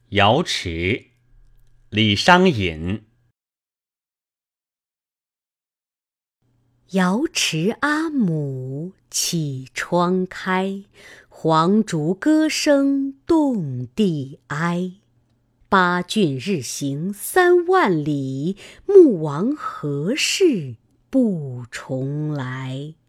瑶池，李商隐。 瑶池阿母绮窗开，黄竹歌声动地哀。八骏日行3万里，穆王何事不重来？